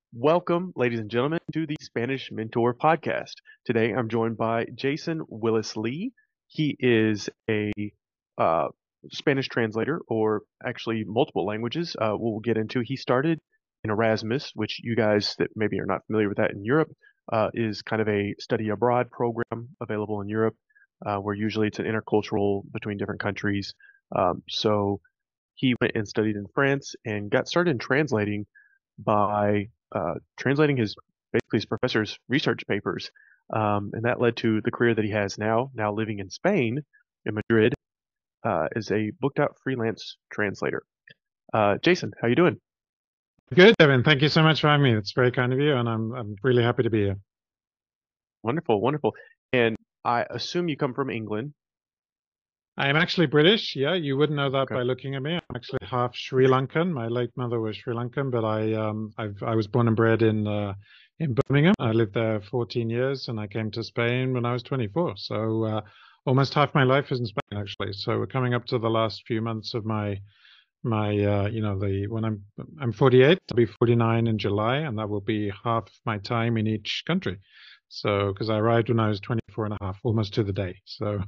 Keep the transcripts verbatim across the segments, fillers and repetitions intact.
Welcome, ladies and gentlemen, to the Spanish Mentor podcast. Today I'm joined by Jason Willis Lee. He is a uh, Spanish translator, or actually multiple languages. Uh, we'll get into. He started in Erasmus, which you guys that maybe are not familiar with that in Europe, uh, is kind of a study abroad program available in Europe, uh, where usually it's an intercultural between different countries. Um, so he went and studied in France and got started in translating by uh, translating his basically his professor's research papers, um, and that led to the career that he has now. Now living in Spain, in Madrid, uh, as a booked out freelance translator. Uh, Jason, how you doing? Good, Devin. Thank you so much for having me. It's very kind of you, and I'm I'm really happy to be here. Wonderful, wonderful. And I assume you come from England. I am actually British. Yeah, you wouldn't know that Okay. by looking at me. I'm actually half Sri Lankan. My late mother was Sri Lankan, but I um I've I was born and bred in uh, in Birmingham. I lived there fourteen years, and I came to Spain when I was twenty-four. So uh, almost half my life is in Spain, actually. So we're coming up to the last few months of my my uh, you know the when I'm I'm forty-eight. I'll be forty-nine in July, and that will be half my time in each country. So because I arrived when I was twenty-four and a half, almost to the day. So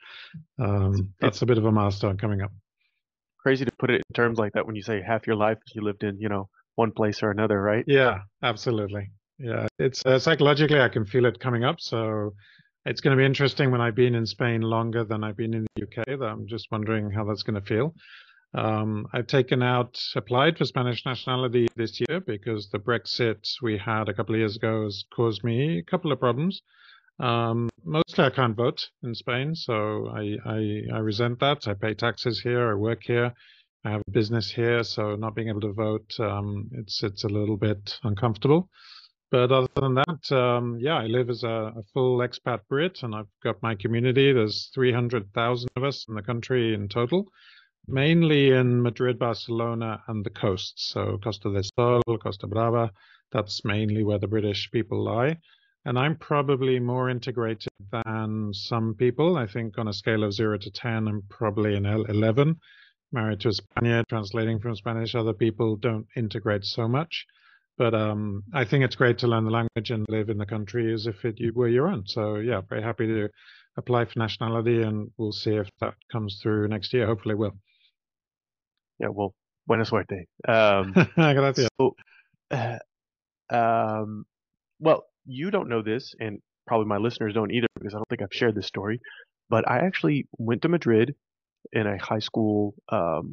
It's, um, it's that's a bit of a milestone coming up. crazy to put it in terms like that when you say half your life you lived in, you know, one place or another, right? Yeah, absolutely. Yeah, it's uh, psychologically I can feel it coming up. So it's going to be interesting when I've been in Spain longer than I've been in the U K. That I'm just wondering how that's going to feel. Um, I've taken out, applied for Spanish nationality this year because the Brexit we had a couple of years ago has caused me a couple of problems. Um, mostly I can't vote in Spain, so I, I, I resent that. I pay taxes here, I work here, I have a business here, so not being able to vote, um, it's it's a little bit uncomfortable. But other than that, um, yeah, I live as a, a full expat Brit, and I've got my community. There's three hundred thousand of us in the country in total, mainly in Madrid, Barcelona, and the coast. So Costa del Sol, Costa Brava, that's mainly where the British people lie. And I'm probably more integrated than some people. I think on a scale of zero to ten, I'm probably an eleven. Married to a Spaniard, translating from Spanish. Other people don't integrate so much. But um, I think it's great to learn the language and live in the country as if it you were your own. So yeah, very happy to apply for nationality, and we'll see if that comes through next year. Hopefully, it will. Yeah. Well, buena suerte. Um, Gracias. so, uh, um, Well, you don't know this, and probably my listeners don't either because I don't think I've shared this story. But I actually went to Madrid in a high school um,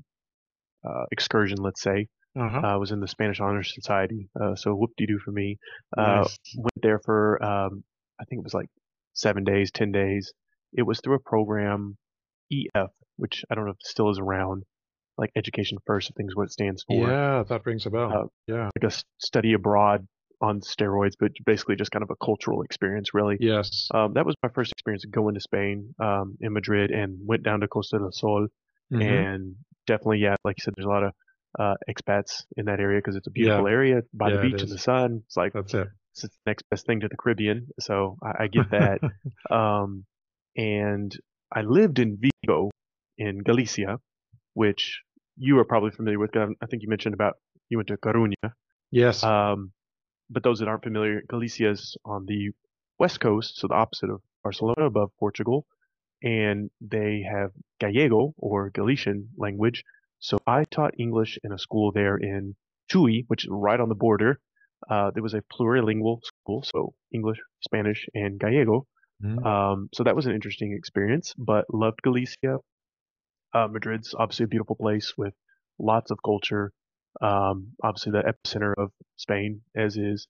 uh, excursion, let's say. Uh-huh. Uh, I was in the Spanish Honor Society, uh, so whoop-de-doo for me. Uh, Nice. went there for, um, I think it was like seven days, ten days. It was through a program, E F, which I don't know if it still is around, like Education First, I think is what it stands for. Yeah, that rings a bell. Uh, Yeah. like a s- study abroad on steroids, but basically just kind of a cultural experience, really. Yes. Um, that was my first experience going to Spain, um, in Madrid, and went down to Costa del Sol. Mm-hmm. And definitely, yeah, like you said, there's a lot of uh, expats in that area because it's a Yeah. beautiful area by the Yeah, it beach and the is. sun. It's like That's it. it's the next best thing to the Caribbean, so I, I get that. Um, and I lived in Vigo in Galicia, which you are probably familiar with. 'Cause I think you mentioned about you went to Coruña. Yes. Um, but those that aren't familiar, Galicia is on the west coast, so the opposite of Barcelona, above Portugal, and they have Gallego or Galician language. So I taught English in a school there in Tui, which is right on the border. Uh, there was a plurilingual school, so English, Spanish, and Gallego. Mm. Um, so that was an interesting experience, but loved Galicia. Uh, Madrid's obviously a beautiful place with lots of culture. Um, obviously the epicenter of Spain, as is,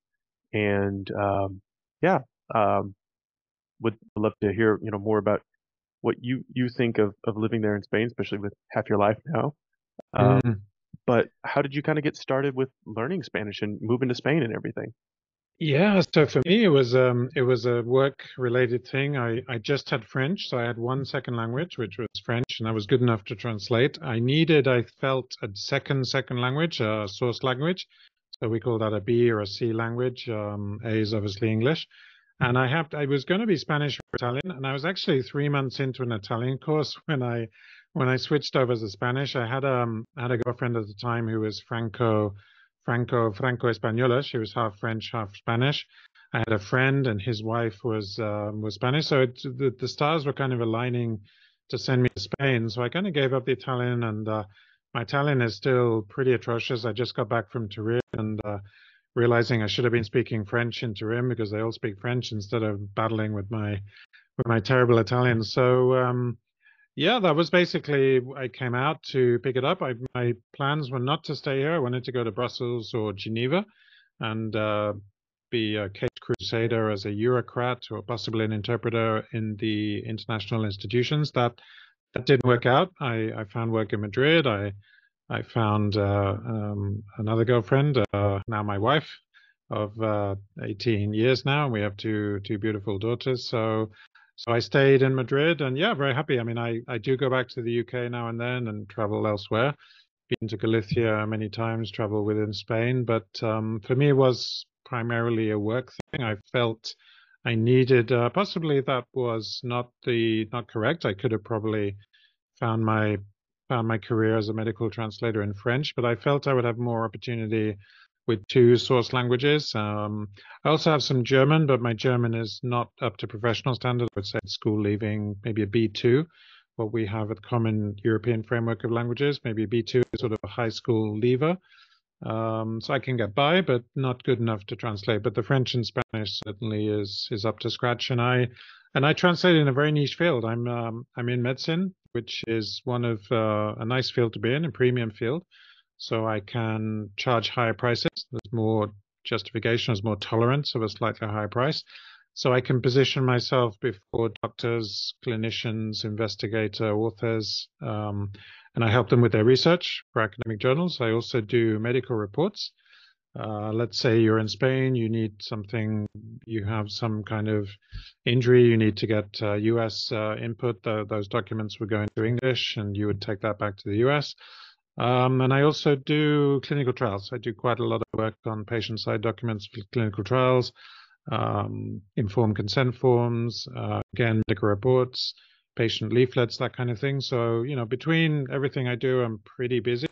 and um, yeah, um, would love to hear you know more about what you you think of of living there in Spain, especially with half your life now. Um, Mm. but how did you kind of get started with learning Spanish and moving to Spain and everything? Yeah, so for me it was um it was a work related thing. I I just had French, so I had one second language, which was French, and I was good enough to translate. I needed, I felt, a second second language, a source language. So we call that a B or a C language. Um, A is obviously English. And I have I was going to be Spanish or Italian, and I was actually three months into an Italian course when I when I switched over to Spanish. I had um I had a girlfriend at the time who was Franco Franco Franco Española. She was half French, half Spanish. I had a friend, and his wife was um, was Spanish. So it, the the stars were kind of aligning to send me to Spain. So I kind of gave up the Italian, and uh, my Italian is still pretty atrocious. I just got back from Turin, and uh, realizing I should have been speaking French in Turin because they all speak French instead of battling with my with my terrible Italian. So um, yeah, that was basically I came out to pick it up. I, my plans were not to stay here. I wanted to go to Brussels or Geneva and uh, be a caped crusader as a bureaucrat or possibly an interpreter in the international institutions. That that didn't work out. I, I found work in Madrid. I I found uh, um, another girlfriend, uh, now my wife, of uh, eighteen years now, and we have two two beautiful daughters. So so I stayed in Madrid, and yeah, very happy. I mean, I I do go back to the U K now and then and travel elsewhere. Been to Galicia many times, travel within Spain, but um, for me it was primarily a work thing. I felt I needed uh, possibly that was not the not correct. I could have probably found my found my career as a medical translator in French, but I felt I would have more opportunity with two source languages. Um, I also have some German, but my German is not up to professional standard. I would say it's school leaving, maybe a B two, what we have at Common European Framework of Languages. Maybe a B two is sort of a high school leaver. Um, so I can get by, but not good enough to translate. But the French and Spanish certainly is is up to scratch. And I and I translate in a very niche field. I'm um, I'm in medicine, which is one of uh, a nice field to be in, a premium field. So I can charge higher prices. There's more justification, there's more tolerance of a slightly higher price. So I can position myself before doctors, clinicians, investigator, authors, um, and I help them with their research for academic journals. I also do medical reports. Uh, let's say you're in Spain, you need something, you have some kind of injury, you need to get uh, U S uh, input. The, those documents would go into English, and you would take that back to the U S. Um, and I also do clinical trials. I do quite a lot of work on patient-side documents for clinical trials, um, informed consent forms, uh, again, medical reports, patient leaflets, that kind of thing. So, you know, between everything I do, I'm pretty busy,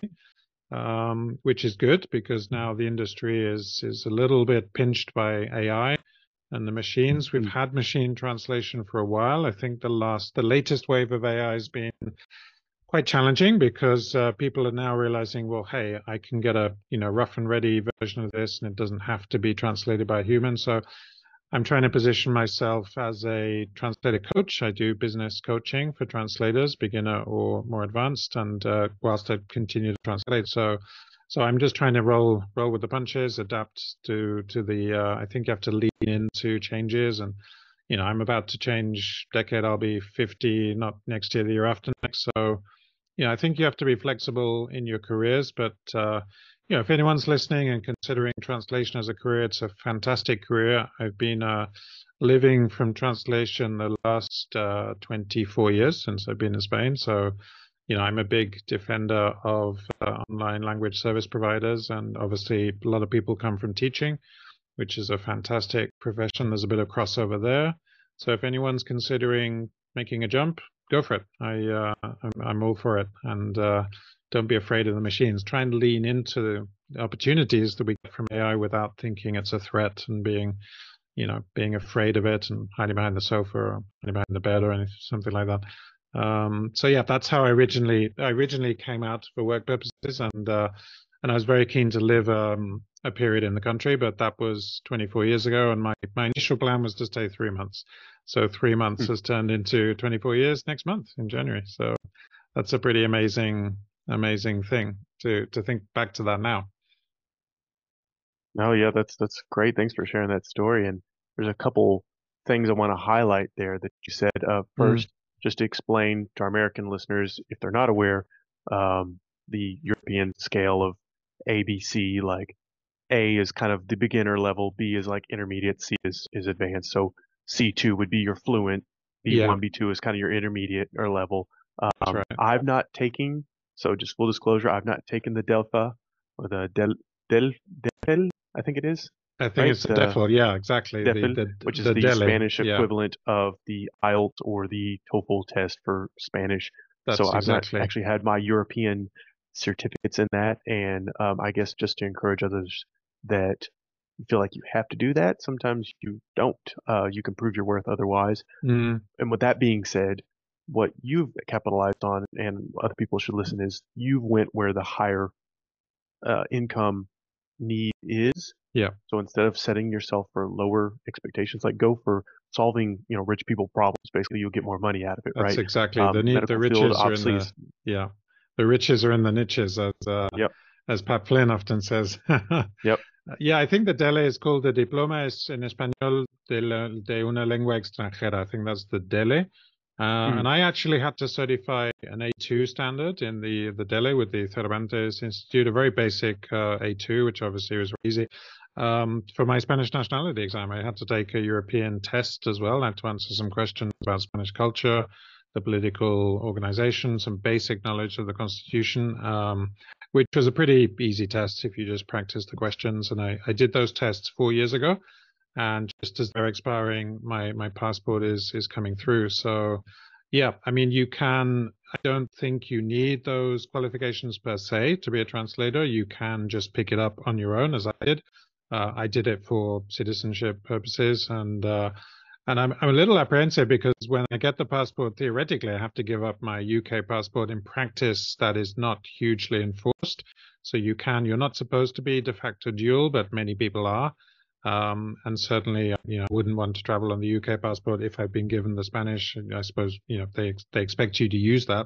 um, which is good because now the industry is is a little bit pinched by A I and the machines. We've had machine translation for a while. I think the last, the latest wave of A I has been quite challenging because uh, people are now realizing, well, hey, I can get a you know rough and ready version of this, and it doesn't have to be translated by a human. So I'm trying to position myself as a translator coach. I do business coaching for translators, beginner or more advanced, and uh, whilst I continue to translate. So so I'm just trying to roll roll with the punches, adapt to to the. Uh, I think you have to lean into changes, and you know I'm about to change decade. I'll be fifty, not next year, the year after next. So yeah, I think you have to be flexible in your careers, but uh, you know, if anyone's listening and considering translation as a career, it's a fantastic career. I've been uh, living from translation the last uh, twenty-four years since I've been in Spain. So, you know, I'm a big defender of uh, online language service providers, and obviously a lot of people come from teaching, which is a fantastic profession. There's a bit of crossover there. So if anyone's considering making a jump, go for it. I, uh, I'm, I'm all for it. And uh, don't be afraid of the machines. Try and lean into the opportunities that we get from A I without thinking it's a threat and being, you know, being afraid of it and hiding behind the sofa or hiding behind the bed or anything, something like that. Um, so yeah, that's how I originally I originally came out for work purposes, and uh, and I was very keen to live um, a period in the country, but that was twenty-four years ago, and my my initial plan was to stay three months. So three months has turned into twenty-four years next month in January. So that's a pretty amazing amazing thing to to think back to that now. No, yeah, that's that's great. Thanks for sharing that story. And there's a couple things I want to highlight there that you said. Uh, Mm. first, just to explain to our American listeners, if they're not aware, um, the European scale of A B C, like A is kind of the beginner level, B is like intermediate, C is is advanced. So C two would be your fluent, Yeah, B one, B two is kind of your intermediate or level. that's Um, right. I've not taken, so just full disclosure, I've not taken the Delphi or the Del Del Del, I think it is, I think right? it's the The DEFL. Yeah, exactly. The DEFL, the which is the the Delhi. Spanish Yeah, equivalent of the I E L T S or the TOEFL test for Spanish. So that's I've not exactly. actually had my European certificates in that, and um, I guess just to encourage others that feel like you have to do that. Sometimes you don't. Uh, you can prove your worth otherwise. Mm, And with that being said, what you've capitalized on, and other people should listen, is you went where the higher uh, income need is. yeah, So instead of setting yourself for lower expectations, like go for solving, you know, rich people problems. Basically, you'll get more money out of it, that's right? exactly the Um, need. The medical field riches are in obviously the is, yeah, the riches are in the niches, as uh, yep, as Pat Flynn often says. yep, Yeah, I think the D E L E is called the Diploma es en Español de, la, de una lengua extranjera. I think that's the D E L E. Uh, mm, and I actually had to certify an A two standard in the, the D E L E with the Cervantes Institute, a very basic uh, A two, which obviously was easy. Um, for my Spanish nationality exam, I had to take a European test as well. I had to answer some questions about Spanish culture, the political organization, some basic knowledge of the Constitution. Um, which was a pretty easy test if you just practice the questions. And I, I did those tests four years ago, and just as they're expiring, my my passport is is coming through. So, yeah, I mean, you can. I don't think you need those qualifications per se to be a translator. You can just pick it up on your own, as I did. Uh, I did it for citizenship purposes, and uh, and I'm I'm a little apprehensive because when I get the passport, theoretically, I have to give up my U K passport. In practice, that is not hugely enforced. So you can, you're not supposed to be de facto dual, but many people are. Um, and certainly, you know, I wouldn't want to travel on the U K passport if I've been given the Spanish. I suppose, you know, they they expect you to use that.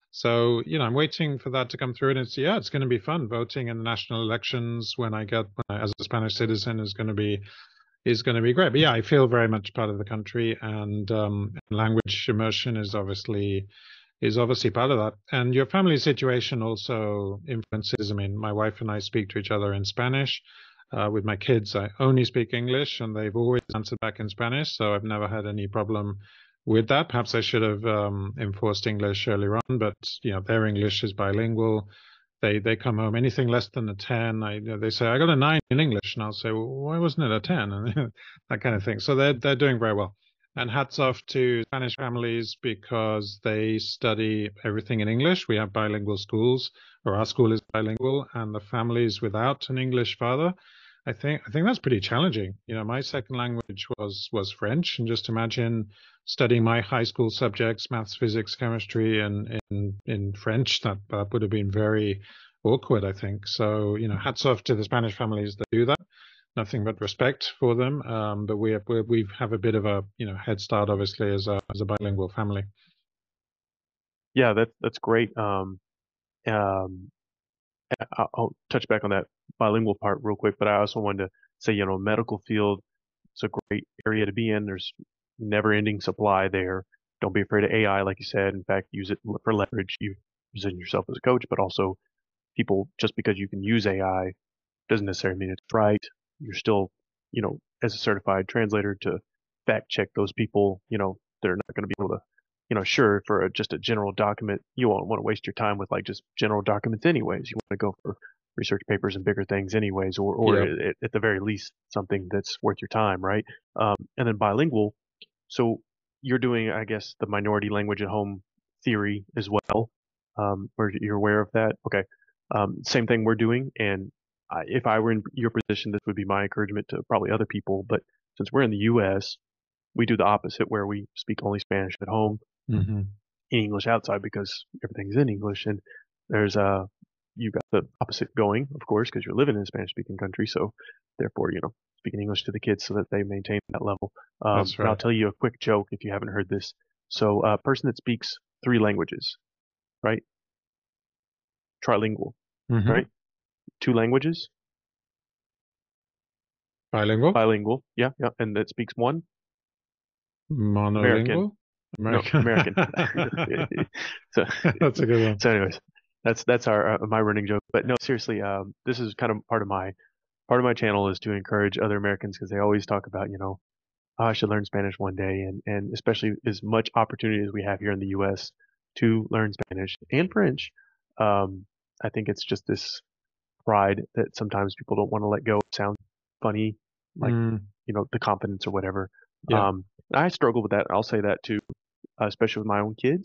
So, you know, I'm waiting for that to come through, and it's yeah, it's going to be fun. Voting in the national elections when I get when I, as a Spanish citizen is going to be is going to be great. But yeah, I feel very much part of the country, and um, language immersion is obviously is obviously part of that. And your family situation also influences. I mean, my wife and I speak to each other in Spanish. Uh, with my kids, I only speak English, and they've always answered back in Spanish, so I've never had any problem with that. Perhaps I should have um, enforced English earlier on, but you know, their English is bilingual. They they come home anything less than a ten. I they say I got a nine in English, and I'll say, well, why wasn't it a ten? And that kind of thing. So they're they're doing very well. And hats off to Spanish families because they study everything in English. We have bilingual schools, or our school is bilingual, and the families without an English father, I think I think that's pretty challenging. You know, my second language was was French, and just imagine studying my high school subjects, maths, physics, chemistry, and in in French. That that would have been very awkward, I think. So, you know, hats off to the Spanish families that do that. Nothing but respect for them. Um, but we have, we we have a bit of a you know head start, obviously, as a as a bilingual family. yeah, that that's great. Um, um, I- I'll touch back on that bilingual part real quick, but I also wanted to say, you know, medical field, it's a great area to be in. There's never-ending supply there. Don't be afraid of A I, like you said. In fact, use it for leverage. You position yourself as a coach, but also people, just because you can use A I doesn't necessarily mean it's right. You're still, you know, as a certified translator to fact check those people, you know, they're not going to be able to, you know, sure, for a, just a general document, you won't want to waste your time with like just general documents anyways. You want to go for research papers and bigger things anyways, or, or Yeah. at, at the very least, something that's worth your time, right? Um, and then bilingual. So you're doing, I guess, the minority language at home theory as well. Um, or you're aware of that? Okay. Um, same thing we're doing. And I, if I were in your position, this would be my encouragement to probably other people. But since we're in the U S, we do the opposite where we speak only Spanish at home, Hmm. English outside because everything's in English. And there's uh you got the opposite going, of course, because you're living in a Spanish speaking country. So therefore, you know, speaking English to the kids so that they maintain that level. Um, That's and I'll right. tell you a quick joke if you haven't heard this. So a person that speaks three languages, right? Trilingual, Hmm. right? Two languages, Bilingual, bilingual, yeah, yeah, and that speaks one, American. monolingual, No, American. American. So, That's a good one. so anyways, that's that's our uh, my running joke. But no, seriously, um, this is kind of part of my part of my channel is to encourage other Americans because they always talk about, you know, oh, I should learn Spanish one day, and and especially as much opportunity as we have here in the U S to learn Spanish and French. Um, I think it's just this pride that sometimes people don't want to let go. It sounds funny, like, Mm, you know, the confidence or whatever. yeah. Um, I struggle with that. I'll say that too, uh, especially with my own kids.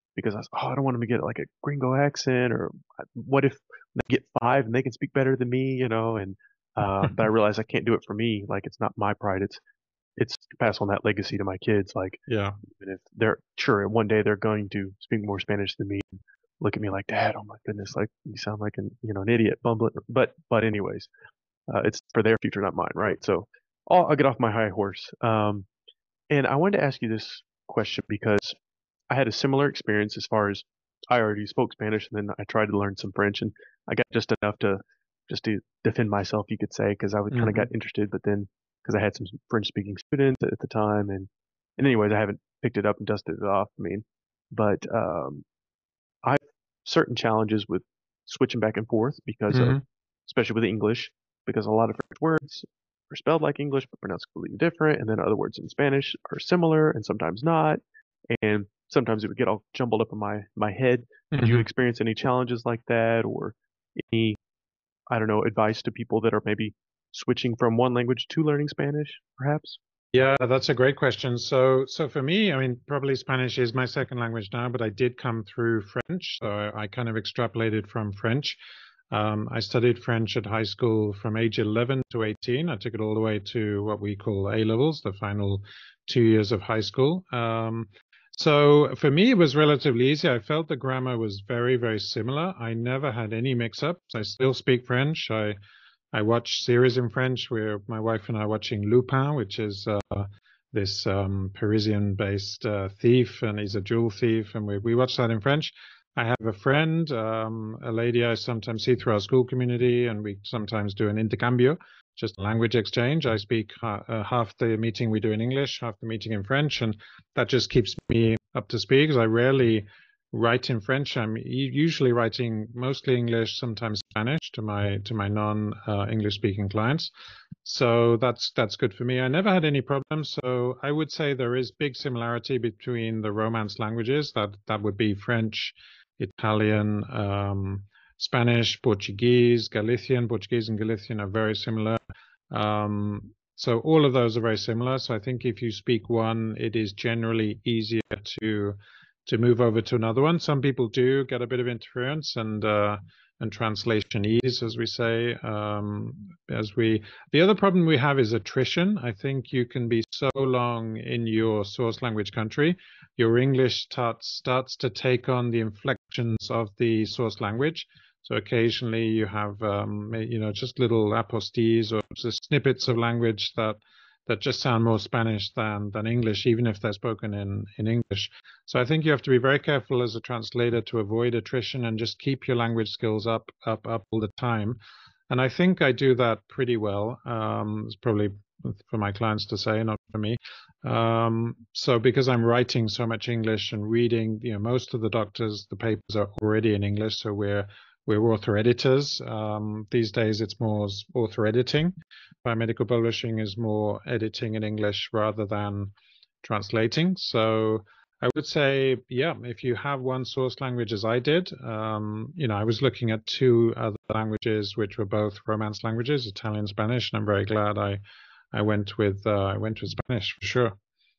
because I was, oh, I don't want them to get like a gringo accent, or uh, what if they get five and they can speak better than me, you know? And uh, but I realized I can't do it for me. Like it's not my pride. It's it's to pass on that legacy to my kids. Like Yeah. even if they're sure one day they're going to speak more Spanish than me, look at me like, Dad, oh my goodness, like you sound like an you know an idiot, bumbling. But but anyways, uh, it's for their future, not mine, right? So I'll, I'll get off my high horse. Um, and I wanted to ask you this question because I had a similar experience as far as I already spoke Spanish and then I tried to learn some French and I got just enough to just to defend myself, you could say, because I would kind of Hmm. got interested, but then because I had some French speaking students at the time and and anyways, I haven't picked it up and dusted it off. I mean, but um, I have certain challenges with switching back and forth because of, Hmm. especially with English, because a lot of French words are spelled like English but pronounced completely different, and then other words in Spanish are similar and sometimes not, and sometimes it would get all jumbled up in my my head. Did you Hmm. experience any challenges like that, or any, I don't know, advice to people that are maybe switching from one language to learning Spanish, perhaps? Yeah, that's a great question. So, so for me, I mean, probably Spanish is my second language now, but I did come through French, so I, I kind of extrapolated from French. Um, I studied French at high school from age eleven to eighteen. I took it all the way to what we call A levels, the final two years of high school. Um, so for me, it was relatively easy. I felt the grammar was very, very similar. I never had any mix-ups. I still speak French. I I watch series in French where my wife and I are watching Lupin, which is uh, this um, Parisian-based uh, thief, and he's a jewel thief, and we, we watch that in French. I have a friend, um, a lady I sometimes see through our school community, and we sometimes do an intercambio, just a language exchange. I speak ha uh, half the meeting we do in English, half the meeting in French, and that just keeps me up to speed because I rarely write in French. I'm usually writing mostly English, sometimes Spanish to my to my non uh, English speaking clients. So that's that's good for me. I never had any problems. So I would say there is big similarity between the Romance languages. That that would be French, Italian, um, Spanish, Portuguese, Galician. Portuguese and Galician are very similar. Um, so all of those are very similar. So I think if you speak one, it is generally easier to to move over to another one. Some people do get a bit of interference and uh, and translation ease, as we say. Um, as we, the other problem we have is attrition. I think you can be so long in your source language country, your English starts starts to take on the inflections of the source language. So occasionally you have, um, you know, just little apostilles or just snippets of language that that just sound more Spanish than than English, even if they're spoken in in English. So I think you have to be very careful as a translator to avoid attrition and just keep your language skills up, up, up all the time. And I think I do that pretty well. Um, it's probably for my clients to say, not for me. Um, so because I'm writing so much English and reading, you know, most of the doctors, the papers are already in English, so we're we're author editors. Um, these days, it's more author editing. Biomedical publishing is more editing in English rather than translating. So I would say, yeah, if you have one source language as I did, um, you know, I was looking at two other languages which were both Romance languages, Italian, Spanish, and I'm very glad I I went with uh, I went with Spanish for sure.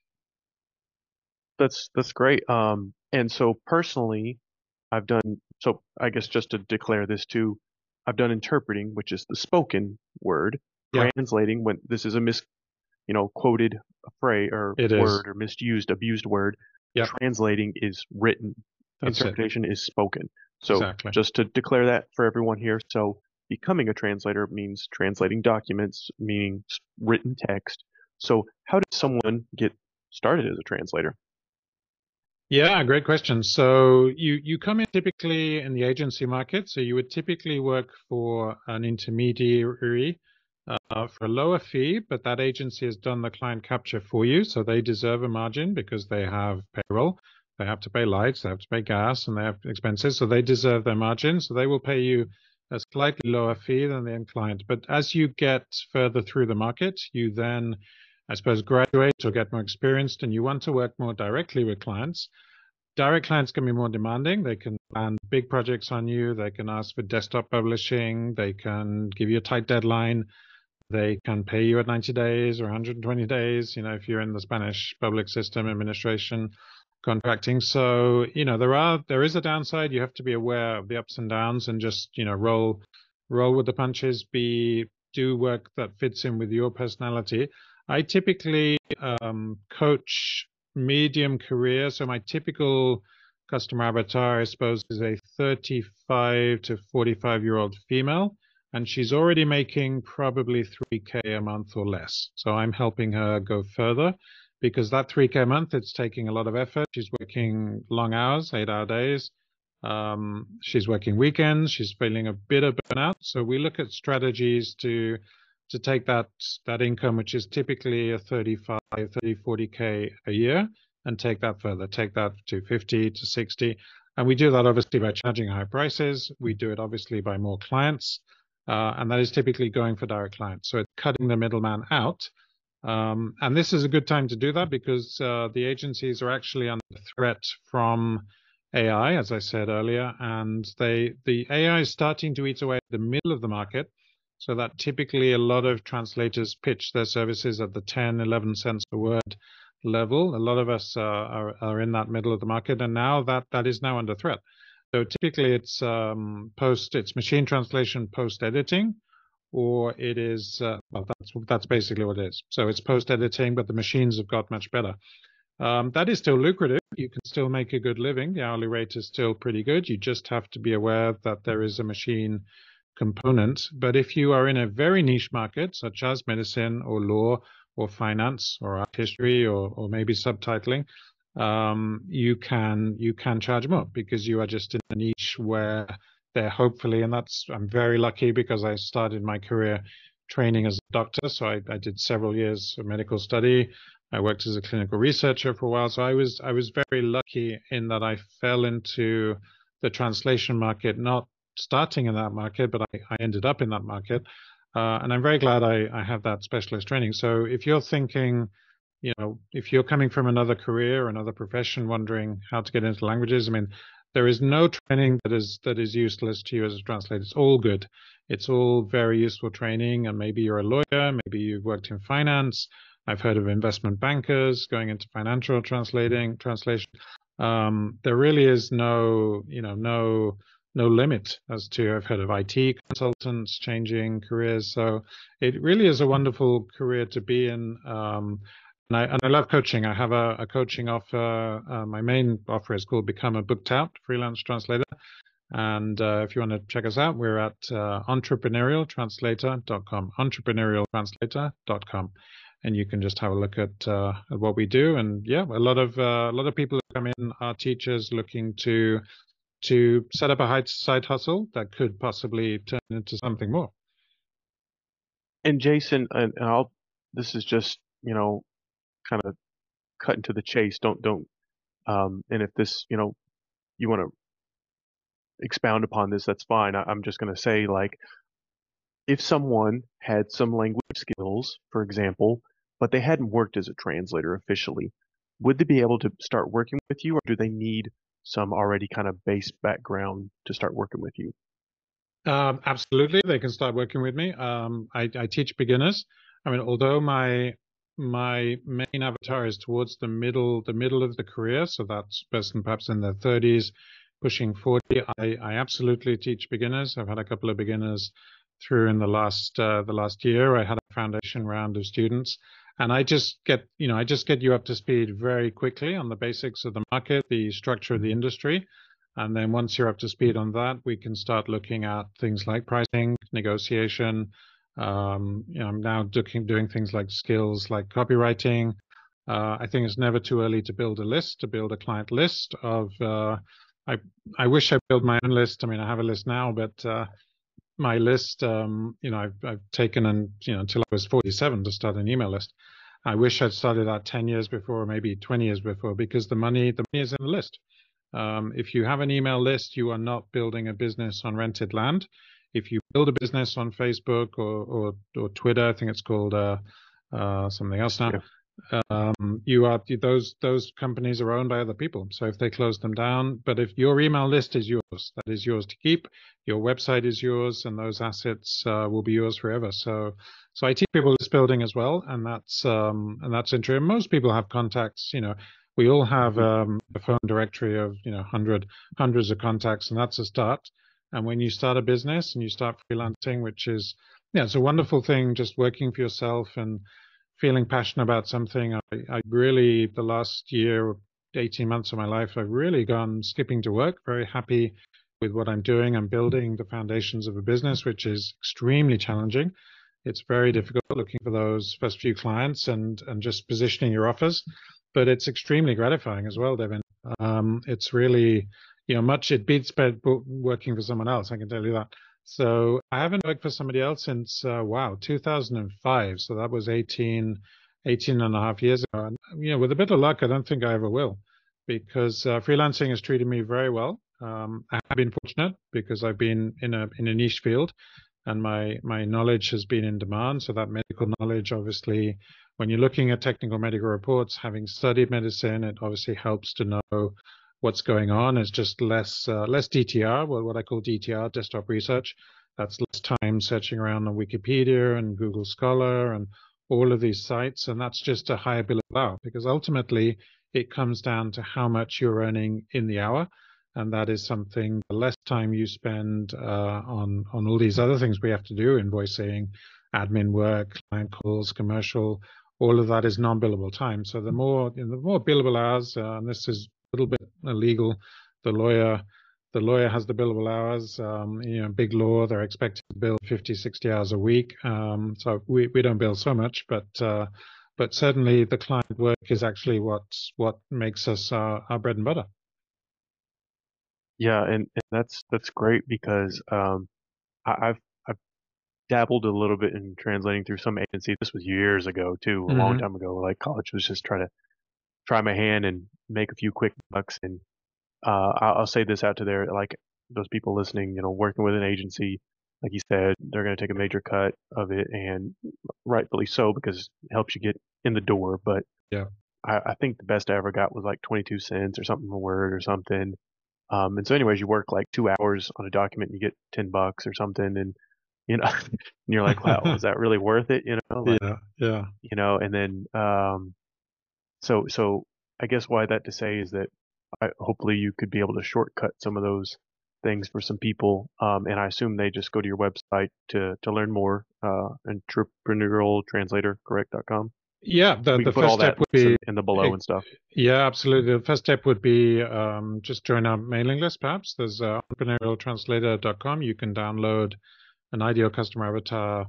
That's that's great. Um, and so personally, I've done, so I guess just to declare this too, I've done interpreting, which is the spoken word, Yeah, translating when this is a mis, you know, quoted phrase or it is. word or misused, abused word. Yeah, Translating is written. that's it. Interpretation is spoken. So Exactly. just to declare that for everyone here. So becoming a translator means translating documents, meaning s- written text. So how does someone get started as a translator? Yeah, great question. So you you come in typically in the agency market. So you would typically work for an intermediary uh, for a lower fee, but that agency has done the client capture for you. So they deserve a margin because they have payroll, they have to pay lights, they have to pay gas, and they have expenses. So they deserve their margin. So they will pay you a slightly lower fee than the end client. But as you get further through the market, you then, I suppose, graduate or get more experienced, and you want to work more directly with clients. Direct clients can be more demanding. They can land big projects on you. They can ask for desktop publishing. They can give you a tight deadline. They can pay you at ninety days or one hundred twenty days, you know, if you're in the Spanish public system administration. contracting. So, you know, there are there is a downside. You have to be aware of the ups and downs and just, you know, roll roll with the punches, be do work that fits in with your personality. I typically um, coach medium career. So my typical customer avatar, I suppose, is a thirty-five to forty-five year old female, and she's already making probably three K a month or less. So I'm helping her go further because that three K a month, it's taking a lot of effort. She's working long hours, eight hour days. Um, she's working weekends. She's feeling a bit of burnout. So we look at strategies to to take that that income, which is typically a thirty-five, thirty, forty K a year, and take that further, take that to fifty to sixty. And we do that obviously by charging higher prices. We do it obviously by more clients. Uh, and that is typically going for direct clients. So it's cutting the middleman out. Um, and this is a good time to do that because uh, the agencies are actually under threat from A I, as I said earlier, and they the A I is starting to eat away at the middle of the market. So that typically a lot of translators pitch their services at the ten, eleven cents a word level. A lot of us uh, are, are in that middle of the market, and now that that is now under threat. So typically it's um, post, it's machine translation post editing, or it is uh, well, that's that's basically what it is. So it's post editing, but the machines have got much better. Um, that is still lucrative. You can still make a good living. The hourly rate is still pretty good. You just have to be aware that there is a machine component. But if you are in a very niche market, such as medicine or law or finance or art history or, or maybe subtitling, um, you can you can charge more because you are just in a niche where they're hopefully, and that's, I'm very lucky because I started my career training as a doctor. So I, I did several years of medical study. I worked as a clinical researcher for a while. So I was I was very lucky in that I fell into the translation market, not starting in that market, but I, I ended up in that market. Uh, and I'm very glad I, I have that specialist training. So if you're thinking, you know, if you're coming from another career, another profession, wondering how to get into languages, I mean, there is no training that is that is useless to you as a translator. It's all good. It's all very useful training. And maybe you're a lawyer, maybe you've worked in finance. I've heard of investment bankers going into financial translating translation. Um, there really is no, you know, no no limit as to, I've heard of I T consultants changing careers. So it really is a wonderful career to be in. Um, and I, and I love coaching. I have a, a coaching offer. Uh, my main offer is called Become a Booked Out Freelance Translator. And uh, if you want to check us out, we're at uh, entrepreneurial translator dot com, entrepreneurial translator dot com. And you can just have a look at, uh, at what we do. And yeah, a lot of uh, a lot of people who come in are teachers looking to to set up a side hustle that could possibly turn into something more. And Jason, and, and I'll, this is just, you know, kind of cutting to the chase. Don't, don't, um, and if this, you know, you want to expound upon this, that's fine. I, I'm just going to say, like, if someone had some language skills, for example, but they hadn't worked as a translator officially, would they be able to start working with you, or do they need some already kind of base background to start working with you? Um, absolutely, they can start working with me. Um, I, I teach beginners. I mean, although my my main avatar is towards the middle the middle of the career, so that's person perhaps in their thirties, pushing forty. I, I absolutely teach beginners. I've had a couple of beginners through in the last uh, the last year. I had a foundation round of students, and I just get you know I just get you up to speed very quickly on the basics of the market, the structure of the industry. And then once you're up to speed on that, we can start looking at things like pricing, negotiation. Um, you know, I'm now doing, doing things like skills like copywriting. Uh, I think it's never too early to build a list, to build a client list of, uh, I, I wish I built my own list. I mean, I have a list now, but uh, my list, um, you know, I've, I've taken and, you know, until I was forty-seven to start an email list. I wish I'd started that ten years before, or maybe twenty years before, because the money, the money is in the list. Um, if you have an email list, you are not building a business on rented land. If you build a business on Facebook or or, or Twitter, I think it's called uh, uh, something else now. Yeah. Um, you are those those companies are owned by other people. So if they close them down, but if your email list is yours, that is yours to keep. Your website is yours, and those assets uh, will be yours forever. So so I teach people list building as well, and that's um, and that's interesting. Most people have contacts, you know. We all have Mhm. um, a phone directory of, you know, hundred hundreds of contacts, and that's a start. And when you start a business and you start freelancing, which is, yeah, it's a wonderful thing, just working for yourself and feeling passionate about something. I, I really, the last year, eighteen months of my life, I've really gone skipping to work, very happy with what I'm doing. I'm building the foundations of a business, which is extremely challenging. It's very difficult looking for those first few clients and, and just positioning your offers, but it's extremely gratifying as well, Devin. Um, it's really, you know, much, it beats working for someone else, I can tell you that. So I haven't worked for somebody else since, uh, wow, two thousand five. So that was eighteen, eighteen and a half years ago. And, you know, with a bit of luck, I don't think I ever will, because uh, freelancing has treated me very well. Um, I have been fortunate because I've been in a in a niche field, and my my knowledge has been in demand. So that medical knowledge, obviously, when you're looking at technical medical reports, having studied medicine, it obviously helps to know what's going on. It's just less uh, less D T R, well, what I call D T R, desktop research. That's less time searching around on Wikipedia and Google Scholar and all of these sites, and that's just a higher bill of hour, because ultimately it comes down to how much you're earning in the hour. And that is something, the less time you spend uh, on on all these other things we have to do, invoicing, admin work, client calls, commercial, all of that is non-billable time. So the more, you know, the more billable hours, uh, and this is a little bit illegal, the lawyer the lawyer has the billable hours. Um, you know, big law, they're expected to bill fifty, sixty hours a week. Um, so we, we don't bill so much, but uh, but certainly the client work is actually what what makes us our, our bread and butter. Yeah, and, and that's that's great because um, I, I've I've dabbled a little bit in translating through some agency. This was years ago too, a long Mm-hmm. time ago. Like college was just trying to try my hand and make a few quick bucks. And uh, I'll, I'll say this out to there, like those people listening, you know, working with an agency, like you said, they're going to take a major cut of it, and rightfully so because it helps you get in the door. But Yeah. I, I think the best I ever got was like twenty-two cents or something a word or something. Um, and so, anyways, you work like two hours on a document, and you get ten bucks or something, and you know, and you're like, wow, was that really worth it? You know, like, Yeah. Yeah. you know, and then, um, so, so I guess why that to say is that I, hopefully you could be able to shortcut some of those things for some people. Um, and I assume they just go to your website to, to learn more, uh, entrepreneurial translator correct dot com. Yeah. The We the can put first all step that would links in, be, in the below eh, and stuff. yeah, absolutely. The first step would be um, just join our mailing list. Perhaps there's uh, entrepreneurial translator dot com. You can download an ideal customer avatar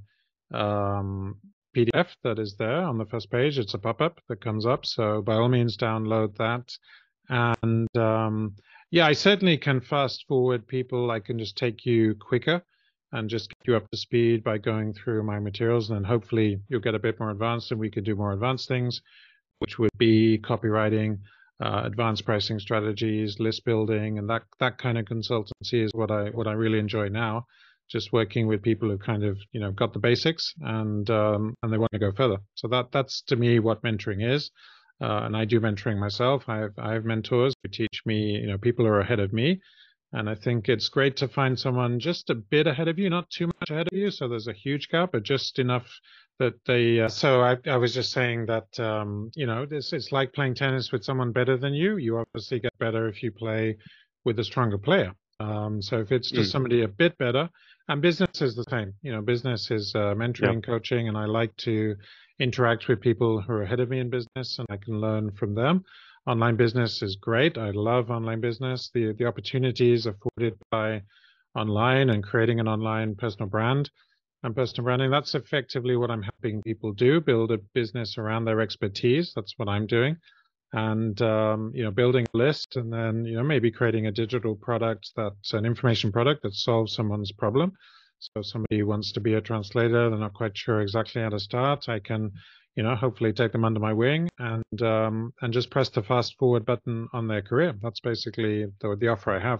um, P D F that is there on the first page. It's a pop-up that comes up. So by all means, download that. And um, yeah, I certainly can fast forward people. I can just take you quicker and just get you up to speed by going through my materials. And then hopefully you'll get a bit more advanced and we could do more advanced things, which would be copywriting, uh, advanced pricing strategies, list building, and that that kind of consultancy is what I what I really enjoy now. Just working with people who kind of, you know, got the basics and um, and they want to go further. So that that's to me what mentoring is. Uh, and I do mentoring myself. I have I have mentors who teach me, you know, people who are ahead of me. And I think it's great to find someone just a bit ahead of you, not too much ahead of you. So there's a huge gap, but just enough that they. Uh, so I, I was just saying that, um, you know, this it's like playing tennis with someone better than you. You obviously get better if you play with a stronger player. Um, so if it's just Mm, somebody a bit better, and business is the same. You know, business is uh, yeah. mentoring, coaching, and I like to interact with people who are ahead of me in business, and I can learn from them. Online business is great. I love online business. The the opportunities afforded by online and creating an online personal brand and personal branding. That's effectively what I'm helping people do, build a business around their expertise. That's what I'm doing. And um, you know, building a list and then, you know, maybe creating a digital product that's an information product that solves someone's problem. So if somebody wants to be a translator, they're not quite sure exactly how to start, I can, you know, hopefully take them under my wing and um, and just press the fast forward button on their career. That's basically the, the offer I have.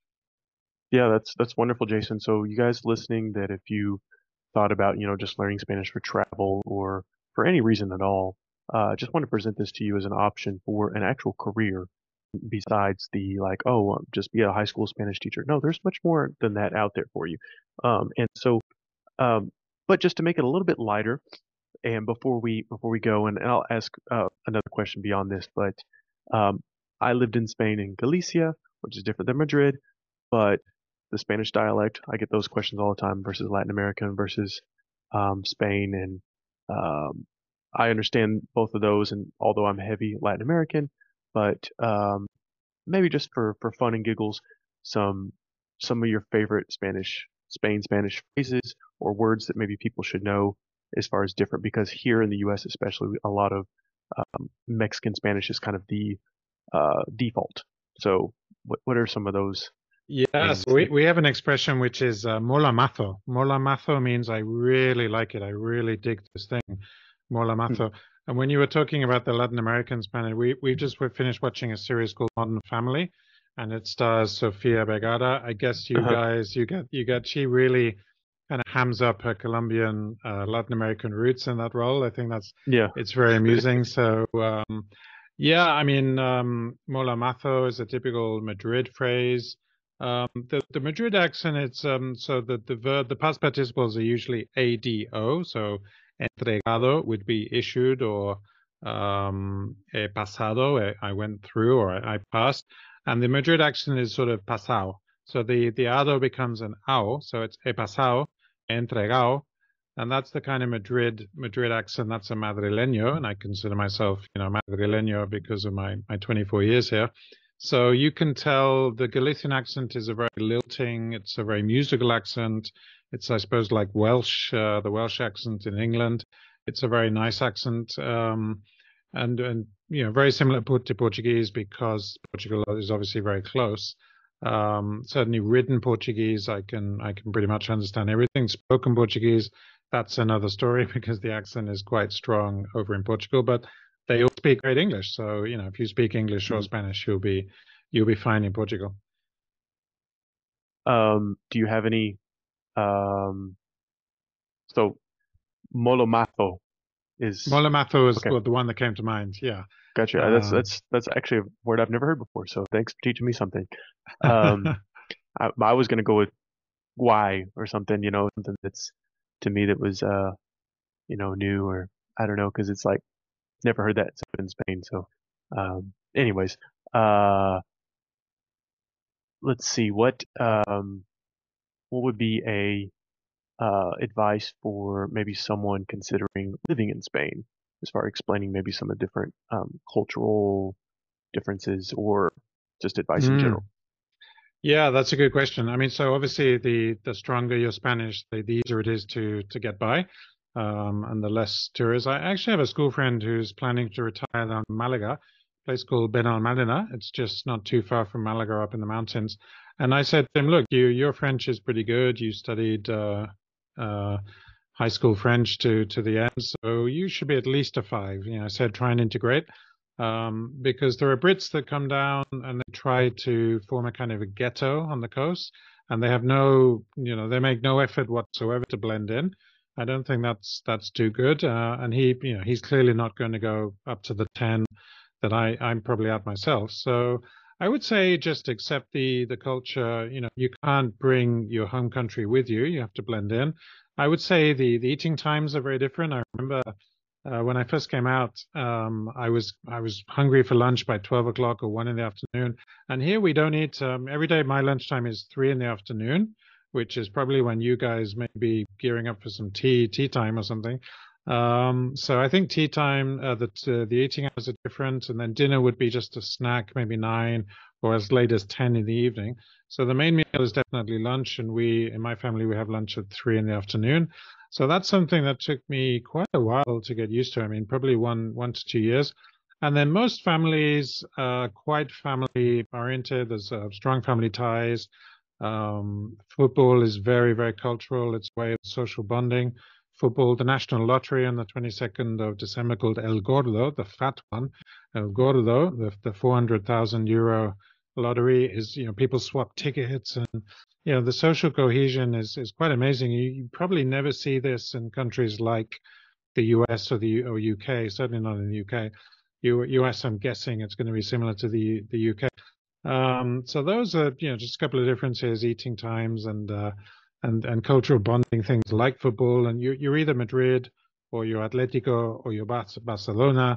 Yeah, that's that's wonderful, Jason. So you guys listening, that if you thought about, you know, just learning Spanish for travel or for any reason at all, uh, just want to present this to you as an option for an actual career besides the like, oh, um, just be a high school Spanish teacher. No, there's much more than that out there for you. Um, and so, um, but just to make it a little bit lighter, and before we before we go, and I'll ask uh, another question beyond this, but Um, I lived in Spain in Galicia, which is different than Madrid, but the Spanish dialect, I get those questions all the time versus Latin American versus um, Spain. And um, I understand both of those. And although I'm heavy Latin American, but um, maybe just for, for fun and giggles, some some of your favorite Spanish, Spain Spanish phrases or words that maybe people should know as far as different, because here in the U S especially, a lot of um, Mexican Spanish is kind of the uh, default. So what what are some of those Yeah, things so we, that, we have an expression which is uh, mola mazo. Mola mazo means I really like it. I really dig this thing, mola hmm, mazo. And when you were talking about the Latin American Spanish, we we just we finished watching a series called Modern Family, and it stars Sofia Vergara. I guess you uh, guys you get you get she really kind of hams up her Colombian uh, Latin American roots in that role. I think that's yeah. it's very amusing. So um, yeah, I mean, um, mola mazo is a typical Madrid phrase. Um, the the Madrid accent, it's um so the the verb the past participles are usually A D O, so entregado would be issued, or um he pasado, eh, I went through, or I, I passed, and the Madrid accent is sort of pasado. So the the ado becomes an ao, so it's he pasado, he entregado, and that's the kind of Madrid Madrid accent. That's a madrileño, and I consider myself, you know, madrileño because of my my twenty-four years here. So you can tell the Galician accent is a very lilting, it's a very musical accent. It's, I suppose, like Welsh, uh, the Welsh accent in England. It's a very nice accent, um, and and you know, very similar to Portuguese because Portugal is obviously very close. Um, certainly, written Portuguese, I can I can pretty much understand everything. Spoken Portuguese, that's another story because the accent is quite strong over in Portugal, but they all speak great English. So, you know, if you speak English or Mhm. Spanish, you'll be you'll be fine in Portugal. Um, do you have any um so Molomato is Molemato is okay, well, the one that came to mind. Yeah. gotcha. Uh, That's Um, that's that's actually a word I've never heard before, so thanks for teaching me something. Um, I, I was gonna go with why or something, you know, something that's to me that was uh, you know, new, or I don't know, because it's like never heard that except in Spain. So, um, anyways, uh, let's see what um what would be a uh, advice for maybe someone considering living in Spain, as far as explaining maybe some of the different um, cultural differences or just advice in mm. general? Yeah, that's a good question. I mean, so obviously the the stronger your Spanish, the, the easier it is to to get by, um, and the less tourists. I actually have a school friend who's planning to retire down in Malaga, a place called Benalmádena. It's just not too far from Malaga, up in the mountains. And I said to him, "Look, you your French is pretty good. You studied uh, uh, high school French to to the end, so you should be at least a five." You know, I said, "Try and integrate." Um, because there are Brits that come down and they try to form a kind of a ghetto on the coast, and they have no, you know, they make no effort whatsoever to blend in. I don't think that's that's too good. Uh, and he, you know, he's clearly not going to go up to the ten that I I'm probably at myself. So I would say just accept the the culture. You know, you can't bring your home country with you. You have to blend in. I would say the the eating times are very different. I remember uh, when I first came out, um, I was I was hungry for lunch by twelve o'clock or one in the afternoon. And here we don't eat um, every day. My lunchtime is three in the afternoon, which is probably when you guys may be gearing up for some tea tea time or something. Um, so I think tea time, uh, that uh, the eating hours are different, and then dinner would be just a snack, maybe nine or as late as ten in the evening. So the main meal is definitely lunch, and we in my family we have lunch at three in the afternoon. So that's something that took me quite a while to get used to. I mean, probably one one to two years. And then most families are quite family oriented. There's uh, strong family ties. Um, football is very, very cultural. It's a way of social bonding. Football, the national lottery on the twenty-second of December called El Gordo, the fat one. El Gordo, the, the four hundred thousand euro lottery is, you know, people swap tickets, and you know, the social cohesion is is quite amazing. You, you probably never see this in countries like the U S or the or U K. Certainly not in the U K. U, US, I'm guessing it's going to be similar to the the U K. Um, so those are, you know, just a couple of differences: eating times and uh, and and cultural bonding things like football. And you, you're either Madrid or you're Atletico or you're Barcelona,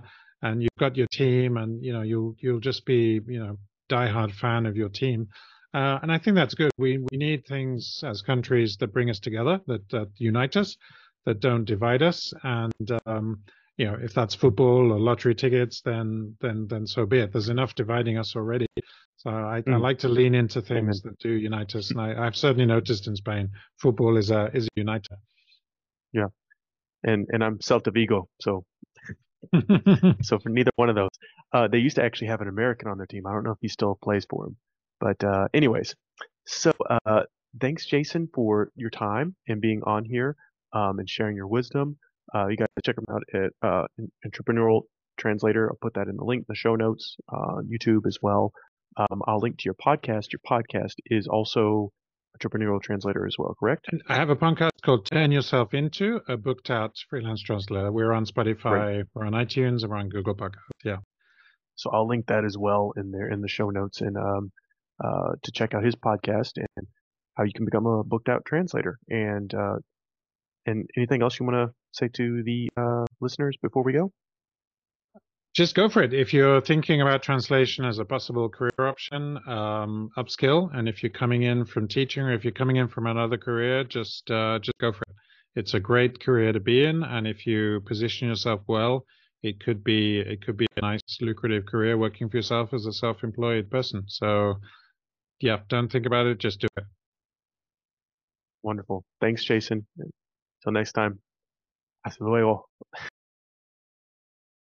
and you've got your team, and you know you'll you'll just be you know diehard fan of your team. Uh, and I think that's good. We we need things as countries that bring us together, that, that unite us, that don't divide us. And um, you know, if that's football or lottery tickets, then then then so be it. There's enough dividing us already. So I, I Mm, like to lean into things amen. that do unite us. And I, I've certainly noticed in Spain, football is a is a uniter. Yeah. And and I'm Celta Vigo, so so for neither one of those. Uh, they used to actually have an American on their team. I don't know if he still plays for them. But uh, anyways, so uh, thanks, Jason, for your time and being on here um, and sharing your wisdom. Uh, you guys check him out at uh, Entrepreneurial Translator. I'll put that in the link in the show notes, uh, YouTube as well. Um, I'll link to your podcast. Your podcast is also Entrepreneurial Translator as well, correct? And I have a podcast called Turn Yourself Into a Booked Out Freelance Translator. We're on Great. Spotify, we're on iTunes, and we're on Google Podcasts. Yeah. So I'll link that as well in there in the show notes and um, uh, to check out his podcast and how you can become a booked out translator. And uh, and anything else you want to say to the uh, listeners before we go? Just go for it. If you're thinking about translation as a possible career option, um, upskill. And if you're coming in from teaching or if you're coming in from another career, just uh, just go for it. It's a great career to be in, and if you position yourself well, it could be it could be a nice lucrative career working for yourself as a self-employed person. So yeah, don't think about it, just do it. Wonderful. Thanks, Jason. Until next time. Hasta luego.